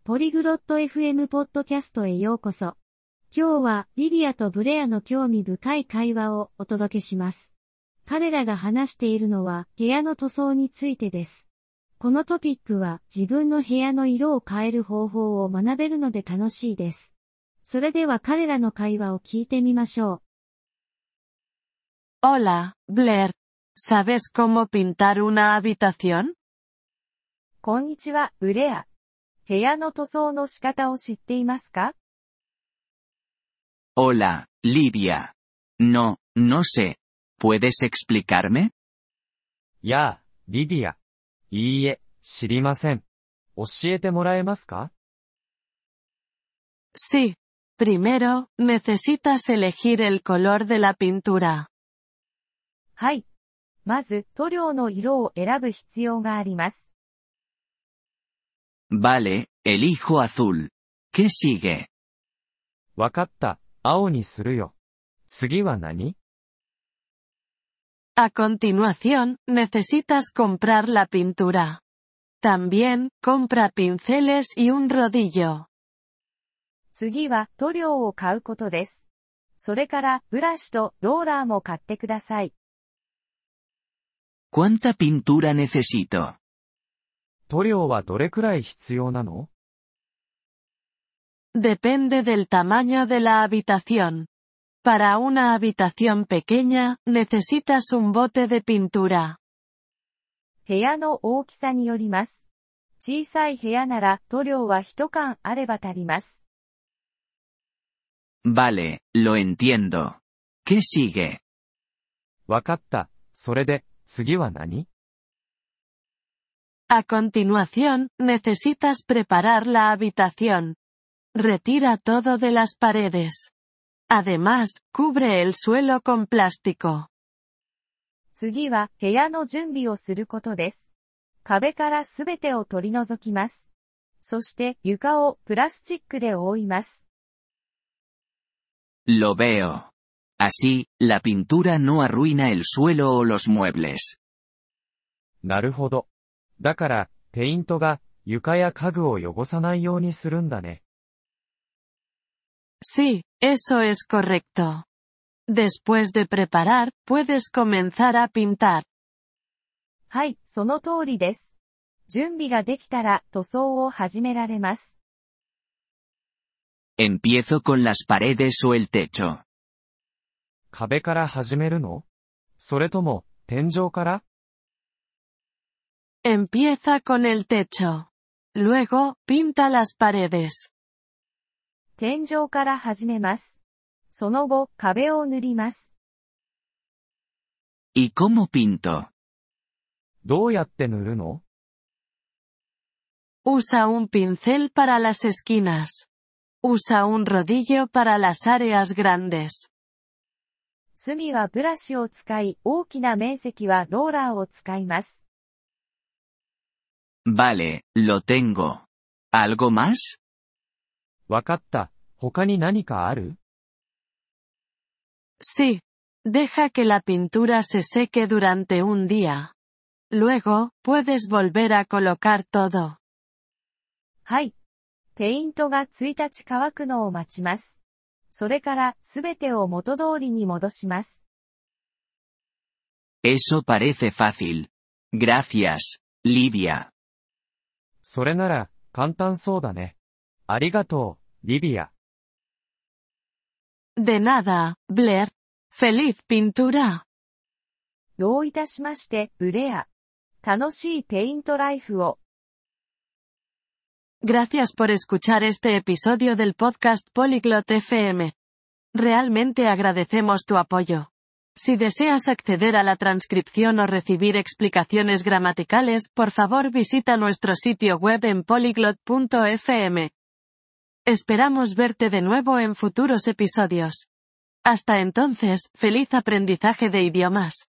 ポリグロット FM ポッドキャストへようこそ。今日はリビアとブレアの興味深い会話をお届けします。彼らが話しているのは部屋の塗装についてです。このトピックは自分の部屋の色を変える方法を学べるので楽しいです。それでは彼らの会話を聞いてみましょう。 Hola, Blair. ¿Sabes cómo pintar una habitación? こんにちは、ブレア。部屋の塗装の仕方を知っていますか？ Hola, Livia. No sé. ¿Puedes explicarme? やあ、リディア。いいえ、知りません。教えてもらえますか？ Sí. Primero, necesitas elegir el color de la pintura. はい。まず、塗料の色を選ぶ必要があります。 Vale, elijo azul. ¿Qué sigue? わかった、青にするよ。次は何？ A continuación, necesitas comprar la pintura. También, compra pinceles y un rodillo. 次は塗料を買うことです。それから、ブラシとローラーも買ってください。 ¿Cuánta pintura necesito? 塗料はどれくらい必要なの？ Depende del tamaño de la habitación. Para una habitación pequeña, necesitas un bote de pintura. 部屋の大きさによります。小さい部屋なら塗料は1缶あれば足ります。 Vale, lo entiendo. ¿Qué sigue? わかった、それで、次は何？ A continuación, necesitas preparar la habitación. Retira todo de las paredes. Además, cubre el suelo con plástico. 次は部屋の準備をすることです。壁からすべてを取り除きます。そして床をプラスチックで覆います。 Lo veo. Así, la pintura no arruina el suelo o los muebles. なるほど。だから、ペイントが床や家具を汚さないようにするんだね。 Sí, eso es correcto. Después de preparar, puedes comenzar a pintar. はい、その通りです。準備ができたら塗装を始められます。 ¿Empiezo con las paredes o el techo? 壁から始めるの？それとも、天井から？ Empieza con el techo. Luego, pinta las paredes. 天井から始めます。その後、壁を塗ります。 ¿Y cómo pinto? どうやって塗るの？ Usa un pincel para las esquinas. Usa un rodillo para las áreas grandes. 隅はブラシを使い、大きな面積はローラーを使います。 Vale, lo tengo. ¿Algo más? わかった、他に何かある？ Sí. Deja que la pintura se seque durante un día. Luego, puedes volver a colocar todo. はい。ペイントが1日乾くのを待ちます。それからすべてを元通りに戻します。 Eso parece fácil. Gracias, Livia. それなら、簡単そうだね。ありがとう、リビア。 De nada, Blair. Feliz pintura. どういたしまして、ブレア。楽しいペイントライフを。 Gracias por escuchar este episodio del podcast Polyglot FM. Realmente agradecemos tu apoyo. Si deseas acceder a la transcripción o recibir explicaciones gramaticales, por favor visita nuestro sitio web en polyglot.fm. Esperamos verte de nuevo en futuros episodios. Hasta entonces, feliz aprendizaje de idiomas.